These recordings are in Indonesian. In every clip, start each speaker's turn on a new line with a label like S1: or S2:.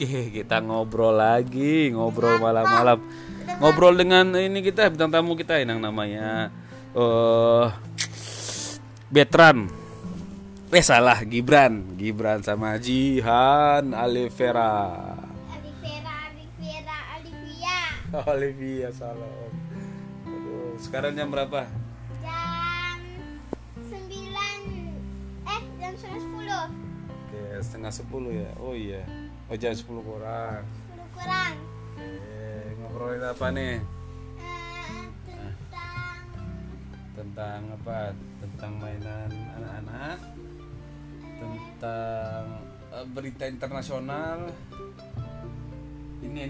S1: Oke, kita ngobrol lagi, ngobrol malam-malam. Ngobrol dengan ini kita bintang tamu kita yang namanya Betran. Salah, Gibran sama Jihan Alivera. Olivia salah om. Aduh, sekarang jam berapa?
S2: Jam 9. Jam 10.
S1: Oke, setengah 10 ya. Oh iya. Oh jam 10 kurang.
S2: 10 kurang.
S1: Ngobrolin apa nih?
S2: Tentang
S1: Tentang apa? Tentang mainan anak-anak. Tentang berita internasional. Ini.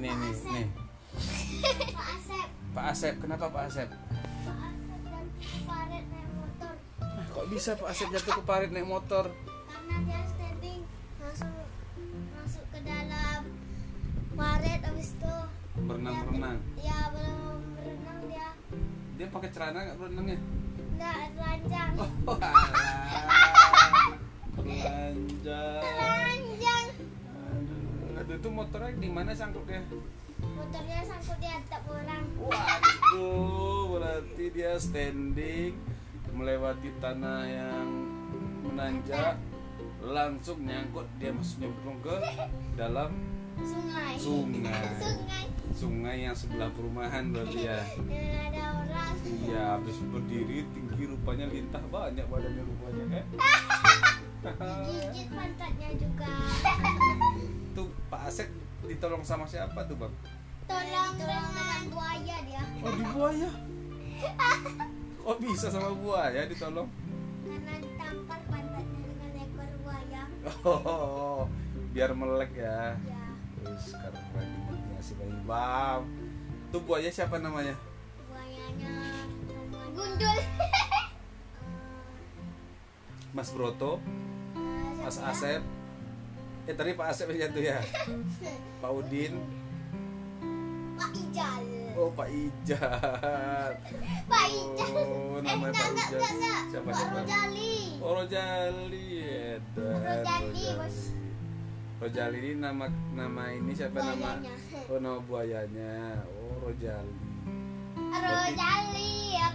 S2: Pak Asep.
S1: Pak Asep, kenapa Pak Asep?
S2: Pak Asep dan Farid naik motor.
S1: Kok bisa Pak Asep jatuh ke parit naik motor?
S2: Karena dia standing langsung masuk ke dalam parit, habis itu
S1: Berenang.
S2: ya belum berenang dia.
S1: Dia pakai celana nggak berenangnya?
S2: Enggak telanjang.
S1: Oh, alah.
S2: Telanjang.
S1: Aduh, itu motornya di mana sangkutnya?
S2: Motornya sangkut di atap orang.
S1: Waduh, berarti dia standing melewati tanah yang menanjak, langsung nyangkut, dia masuk nyemplung ke dalam
S2: Sungai.
S1: Sungai yang sebelah perumahan berarti ya.
S2: Dan ada orang.
S1: Iya, habis berdiri tinggi rupanya lintah banyak badannya rupanya kan.
S2: Gigit pantatnya juga.
S1: Tuh Pak Asep ditolong sama siapa tuh bang?
S2: Tolong dengan buaya dia.
S1: Oh di buaya. Kok bisa sama buaya ditolong?
S2: Karena ditampar pantatnya dengan ekor buaya.
S1: Oh, biar melek ya.
S2: Ya.
S1: Terus sekarang lagi ngasih bayi bang. Tuh buaya siapa namanya?
S2: Buayanya Gundul.
S1: Mas Broto, Mas Asep. Tadi Pak Asep yang jatuh ya. Pak Udin.
S2: Pak Ijal.
S1: Oh Pak Ijal.
S2: Pak Ijal.
S1: Oh namanya Pak Ijal. Siapa
S2: Pak Rojali.
S1: Oh Rojali.
S2: Rojali, Bos.
S1: Rojali ini nama ini siapa
S2: Buayanya.
S1: nama? Oh nama buayanya. Oh Rojali.
S2: Rojali.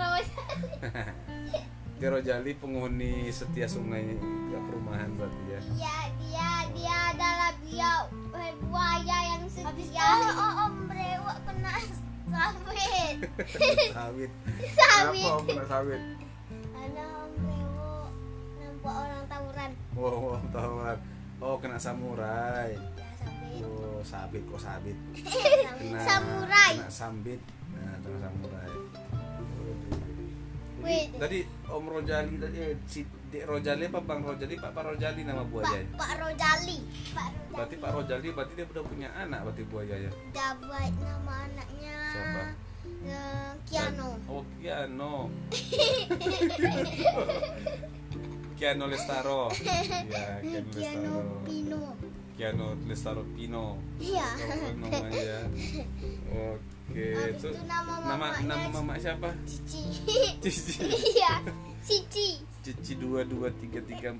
S1: Dia Rojali penghuni setia sungai perumahan berarti ya.
S2: Iya, dia adalah buaya yang setia. Habis itu om brewok kena sawit.
S1: Sawit.
S2: Sawit.
S1: Kenapa om kena sawit?
S2: Ada om brewok nampak orang tawuran.
S1: Oh tahuan. Oh kena samurai.
S2: Ya, sawit.
S1: Oh sabit kok sabit.
S2: Samurai.
S1: Kena sambit. Nah kena samurai.
S2: Wait.
S1: Tadi Om Rojali tadi si Dek Rojali apa Bang Rojali Pak Rojali nama buayanya?
S2: Pak Rojali.
S1: Berarti Pak Rojali berarti dia udah punya anak berarti buayanya.
S2: Udah buat nama anaknya.
S1: Siapa?
S2: Kiano.
S1: Oh Kiano. Kiano Lestaro. Ya,
S2: Kiano Pino.
S1: Kiano Lestaro Pino.
S2: Iya.
S1: Oh, namanya. Oke,
S2: Habis
S1: itu
S2: itu nama
S1: mama siapa?
S2: Cici.
S1: Cici.
S2: Iya, Cici.
S1: Cici 223344.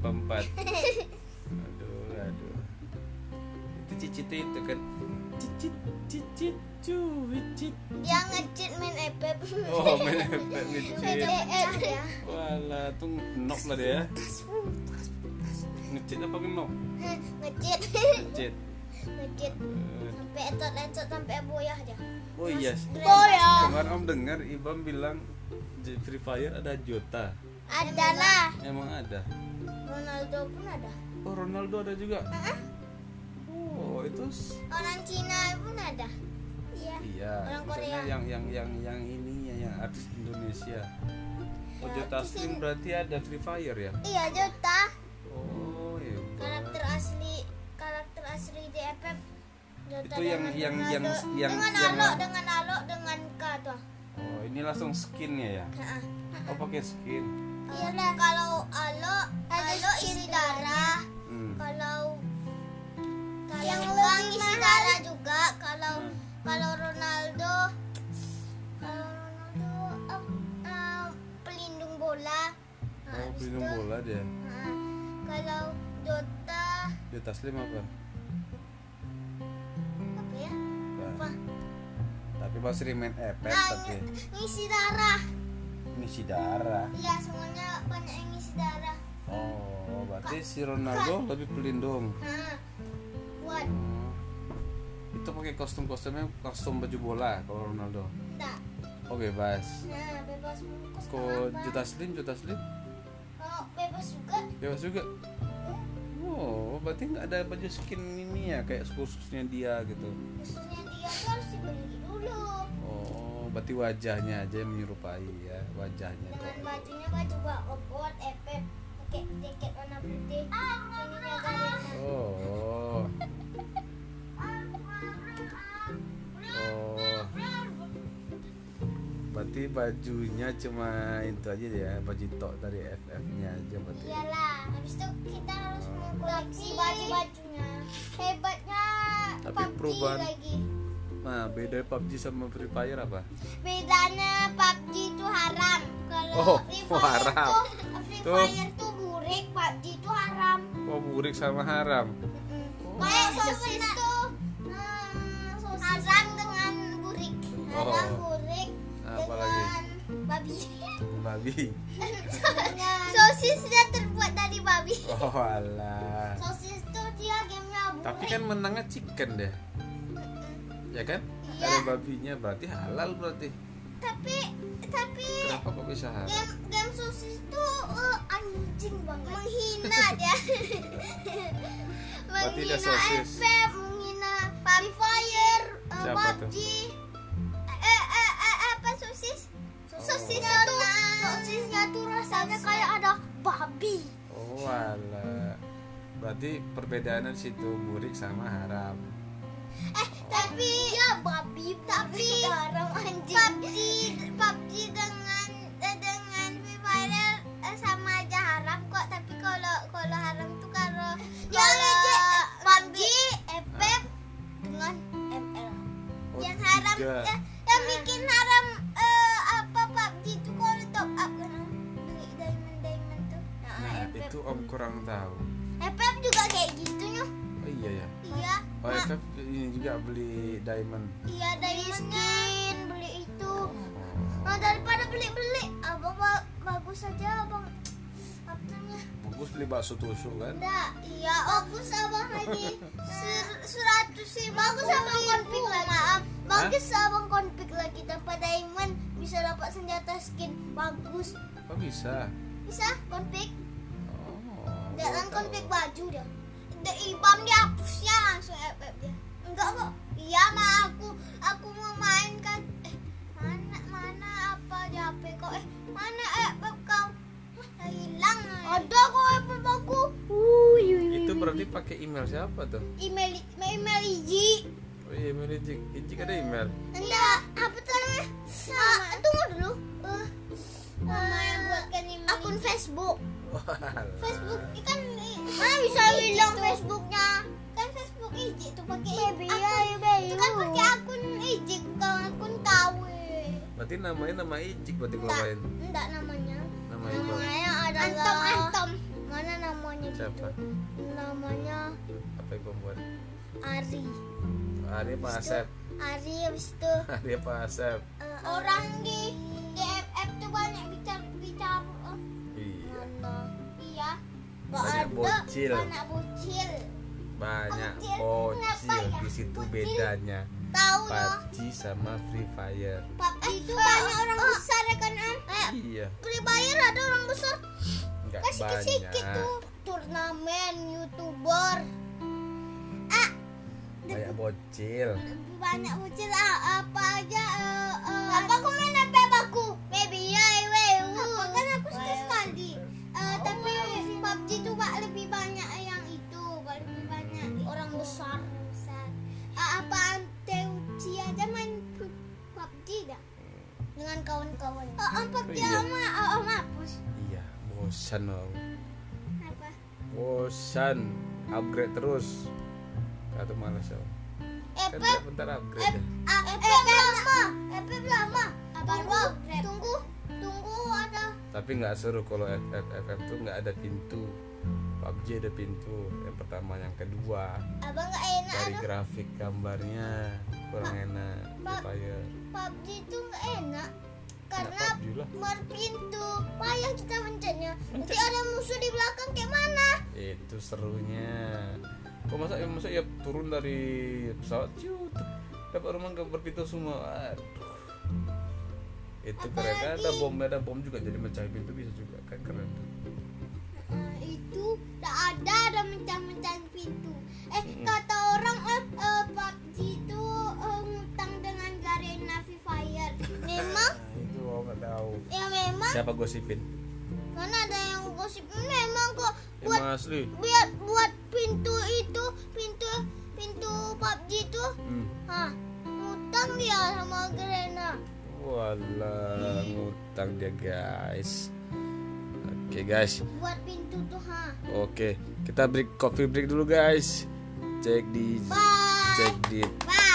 S1: Aduh. Itu Cici itu kan Cici cuit.
S2: Dia ngecit main epep.
S1: Oh, main efek ngecit.
S2: ya.
S1: Walah, tuh nok lah dia. Ngecit apa ngenok?
S2: Ngecit.
S1: Ngecit.
S2: Ngecit. Sampai etot sampai boyah dia.
S1: Oh iya.
S2: Boyah.
S1: Kemarin Om dengar Ibam bilang di Free Fire ada Jota.
S2: Adalah.
S1: Emang ada.
S2: Ronaldo pun ada.
S1: Oh, Ronaldo ada juga. Oh, itu
S2: Orang Cina pun ada. Iya.
S1: iya.
S2: Orang
S1: Maksudnya
S2: Korea.
S1: yang ininya yang artis Indonesia. Oh,
S2: Ya,
S1: Jota
S2: terus
S1: Slim berarti ada Free Fire ya?
S2: Iya, Jota.
S1: Oh, iya.
S2: Karakter asli di FF. Jota
S1: Itu yang
S2: dengan Alok dengan K tuh.
S1: Oh, ini langsung skinnya ya?
S2: Heeh.
S1: Oh, pakai skin.
S2: Iyalah, kalau Alok isi darah. Kalau yang Kang isi darah juga. Kalau Ronaldo pelindung bola.
S1: Oh, pelindung bola dia.
S2: Kalau Jota
S1: Jota Slim apa? Coba sering main FF
S2: Nah,
S1: tapi
S2: ngisi darah.
S1: ngisi darah.
S2: Iya, semuanya banyak yang ngisi darah.
S1: Oh, berarti si Ronaldo lebih pelindung.
S2: Nah, buat
S1: Itu pakai kostumnya kostum baju bola kalau Ronaldo.
S2: enggak.
S1: Oh, bebas.
S2: Nah, bebas bungkus.
S1: Kok
S2: kenapa?
S1: Juta Slim?
S2: Oh, bebas juga.
S1: Bebas juga. Oh, berarti nggak ada baju skin ini ya kayak khususnya dia gitu.
S2: Khususnya dia tuh harus dibeli dulu.
S1: Oh, berarti wajahnya aja yang menyerupai ya, wajahnya
S2: Dengan
S1: tuh.
S2: bajunya baju buat efek pakai jaket warna putih. Ininya Garena.
S1: Oh. Oh. Berarti bajunya cuma itu aja ya, baju tok dari FF-nya aja berarti.
S2: Iyalah, habis itu kita harus mengkoleksi baju-bajunya. Hebatnya
S1: Tapi
S2: PUBG
S1: perubahan-
S2: lagi.
S1: Nah, beda PUBG sama Free Fire apa?
S2: Bedanya PUBG itu haram. Kalau
S1: Oh,
S2: Free Fire
S1: haram.
S2: Free
S1: Tuh.
S2: Fire tuh burik, PUBG itu haram.
S1: Oh, burik sama haram.
S2: Kayak sosis tuh haram dengan burik. Haram
S1: Oh.
S2: burik
S1: Apa
S2: dengan
S1: lagi?
S2: babi.
S1: Babi.
S2: Sosisnya terbuat dari babi.
S1: Oh, alah.
S2: Sosis tuh dia gamenya burik.
S1: Tapi kan menangnya chicken deh. Ya kan?
S2: Iya.
S1: Ada babinya berarti halal berarti.
S2: tapi
S1: Kenapa kok bisa halal?
S2: game sosis tuh anjing banget, menghina dia.
S1: Berarti dia
S2: menghina
S1: sosis.
S2: FF, menghina Free Fire,
S1: Siapa tuh?
S2: PUBG. Apa sosis? Sosisnya tuh rasanya kayak ada babi.
S1: Oh, alah. Berarti perbedaannya di situ burik sama haram.
S2: Tapi ya babi, tapi haram anjing. PUBG dengan Free Fire sama aja haram kok. Tapi kalau haram tuh kalau PUBG, FF dengan ML.
S1: Oh,
S2: Yang haram
S1: tiga.
S2: yang bikin haram apa PUBG itu kalau top up kan beli diamond tuh.
S1: Nah,
S2: FF.
S1: itu Om kurang tahu.
S2: FF juga kayak gitu nyuh.
S1: Oh iya ya.
S2: Iya.
S1: Oh, FF ini juga beli diamond.
S2: Iya dari skin beli itu.
S1: Oh.
S2: Nah, daripada beli-beli, abang bagus aja abang. Apa namanya?
S1: Bagus beli bakso tusuk kan?
S2: Enggak, iya bagus abang lagi 100 sih. Bagus abang konfig lagi. Maaf, bagus abang konfig lagi tanpa diamond bisa dapat senjata skin bagus.
S1: Oh, bisa.
S2: Bisa konfig.
S1: Oh.
S2: Jangan
S1: baru
S2: konfig
S1: tahu.
S2: baju dia. Ibam dihapusnya langsung FF dia. Enggak kok. Iya mah aku mau main kan. Mana apa di HP kok? Mana FF kau? Hilang. Ada kok FF aku.
S1: Itu berarti pakai email siapa tuh?
S2: Email Iji.
S1: Oh iya, email Ijik. Ijik ada email.
S2: Enggak, apa tuh namanya? Tunggu dulu. Mama yang buatkan email. Akun Facebook. Facebook kan mana bisa bilang Facebooknya kan Facebook Iji tuh pakai itu kan pakai akun Iji bukan akun KW.
S1: Berarti namanya nama Ijik berarti kalau main.
S2: Enggak namanya
S1: Namanya
S2: adalah Antom mana namanya
S1: siapa?
S2: gitu namanya
S1: Apa yang membuat?
S2: Ari
S1: Ari apa Asep?
S2: Ari habis itu
S1: Ari apa Asep?
S2: orang di FF tuh banyak bicara
S1: Iya.
S2: iya
S1: Banyak bocil.
S2: banyak bocil
S1: Banyak
S2: Bocil.
S1: bocil.
S2: Kenapa ya?
S1: Di situ
S2: Bocil.
S1: bedanya.
S2: tahu loh
S1: PUBG sama Free Fire.
S2: PUBG itu banyak orang besar ya kan
S1: Iya.
S2: Free Fire ada orang besar
S1: Enggak
S2: sedikit
S1: banyak.
S2: tuh turnamen youtuber
S1: Banyak bocil.
S2: banyak bocil apa aja apa aku main FF aku baby apa kan aku suka sekali tapi PUBG tuh lebih banyak yang itu lebih banyak orang besar apa Anteuci aja main PUBG dah dengan kawan-kawan PUBG
S1: Iya.
S2: sama hapus
S1: Iya, bosan loh.
S2: apa
S1: Bosan. Upgrade terus. Atau malas ya. Kan
S2: FF
S1: bentar upgrade deh.
S2: FF lama baru upgrade tunggu ada
S1: Tapi nggak seru kalau FF tuh nggak ada pintu. PUBG ada pintu yang pertama, yang kedua
S2: Abang nggak enak.
S1: dari grafik gambarnya kurang enak. Fire
S2: PUBG itu nggak enak karena
S1: PUBG lah.
S2: berpintu payah kita mencetnya. Nanti ada musuh di belakang kayak mana?
S1: Itu serunya. Kok masa ya turun dari pesawat ciut dapat rumah berpintu semua. Aduh, itu keren. Ada bom juga, jadi mecahin pintu bisa juga kan, keren tuh.
S2: Itu ada mencah-mecahin pintu. Kata orang PUBG itu ngutang dengan Garena Free Fire. Memang?
S1: Itu aku nggak tahu.
S2: Ya memang.
S1: Siapa gosipin?
S2: Mana ada yang gosip? Memang kok buat
S1: Emang asli.
S2: buat pintu itu, pintu PUBG itu. Ngutang dia sama Garena.
S1: Walah, ngutang dia guys. Oke guys.
S2: Buat pintu tuh
S1: Oke, kita coffee break dulu guys. Cek di
S2: Bye.
S1: cek di
S2: Bye.